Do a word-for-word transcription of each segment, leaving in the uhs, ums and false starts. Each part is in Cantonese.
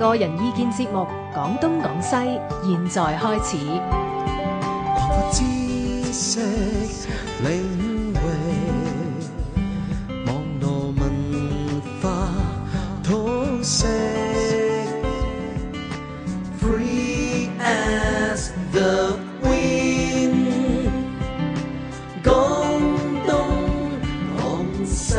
個人意見節目《講東講西》，現在開始。 擴闊知識領域，網絡文化通識 ，Free as the wind， 講東講西。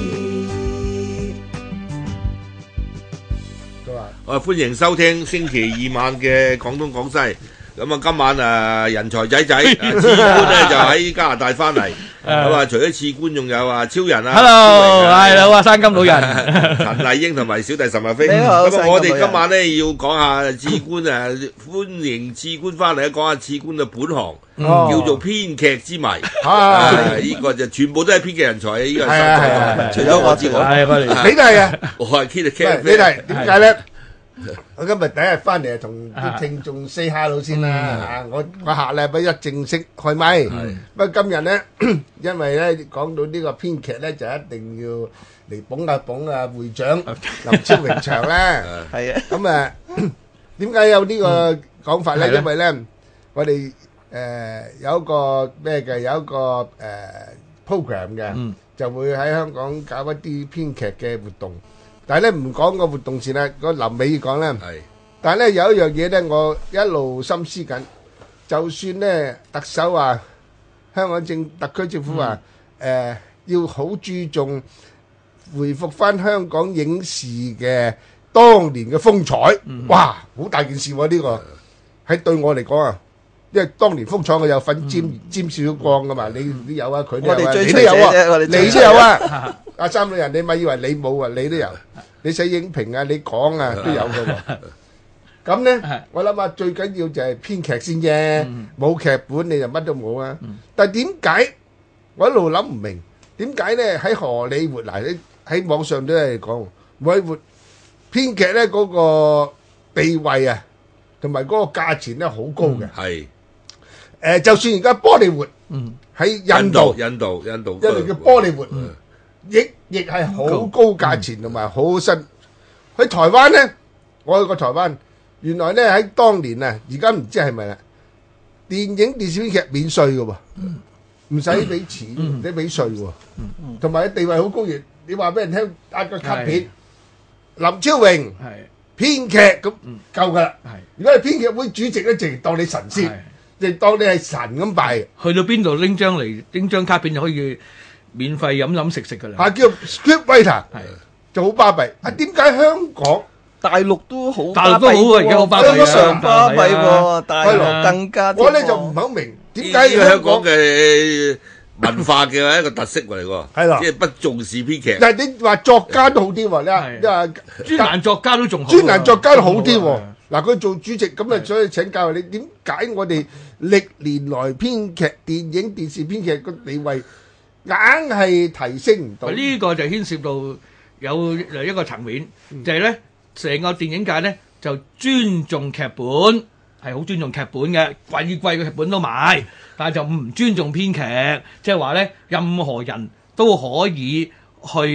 我歡迎收聽星期二晚嘅廣東廣西。咁啊，今晚啊人才仔仔啊，次官咧就喺加拿大翻嚟。咁啊，除咗次官，仲有啊超人啊 ，Hello，係好啊，山金老人， 陳麗英同埋小弟岑日飛。 你好， 咁啊，我哋今晚咧要講下次官啊，歡迎次官翻嚟，講下次官嘅本行，叫做編劇之謎。啊，呢個就全部都係編劇人才啊！呢個係啊，除咗我之外， 係我哋， 你都係啊， 我係 Kid， 你係點解咧？我今日第一日翻嚟，同啲聽眾 say hello 先啦嚇！我我下禮拜一正式開咪，不過今日咧，因為咧講到呢個編劇咧，就一定要嚟捧下捧啊會長林超榮祥啦。係啊，咁啊，點解有呢個講法咧？因為咧，我哋誒有一個咩嘅，有一個誒 program 嘅，就會喺香港搞一啲編劇嘅活動。但係咧唔講個活動先啦，個臨尾講咧。係。但係咧有一樣嘢咧，我一路心思緊。就算咧特首話香港政特區政府話誒要好注重回復翻香港影視嘅當年嘅風采，哇！好大件事喎呢個。喺對我嚟講啊，因為當年風采我有份沾沾少少光噶嘛，你都有啊，佢都有啊，你都有啊，你都有啊。阿三老人，你咪以為你冇啊？你都有。你寫影評啊，你講啊都有噶喎。咁咧，我諗下最緊要就係編劇先啫。冇劇本你就乜都冇啊。但係點解我一路諗唔明？點解咧喺荷里活嗱？喺喺網上都係講荷里活編劇咧嗰個地位啊，同埋嗰個價錢咧好高嘅。係。誒，就算而家波利活喺印度， 印度，印度， 因為叫波利活。亦亦係好高價錢同埋好新。喺台灣咧，我去過台灣，原來咧喺當年啊，而家唔知係咪啦，電影電視編劇免稅嘅喎，唔使俾錢，唔使俾稅喎，同埋地位好高嘅。你話俾人聽壓個卡片，林超榮編劇咁夠㗎啦。如果係編劇會主席咧，淨係當你神仙，淨係當你係神咁拜。 去到邊度拎張嚟拎張卡片就可以免費飲飲食食噶啦， 啊叫 script writer， 就好巴閉。啊，點解香港大陸都好， 大陸都好啊，而家好巴閉啊， 非常巴閉喎，大陸更加。 我咧就唔係好明點解香港嘅文化嘅一個特色嚟喎，係啦，即係不重視編劇。 但係你話作家都好啲喎，你話你話專欄作家都仲好， 專欄作家都好啲喎。嗱，佢做主席咁啊，所以請教你點解我哋歷年來編劇、電影、電視編劇個地位硬係提升唔到？ 呢個就牽涉到有一個層面，就係咧成個電影界咧就尊重劇本，係好尊重劇本嘅，貴貴嘅劇本都買，但係就唔尊重編劇，即係話咧任何人都可以去。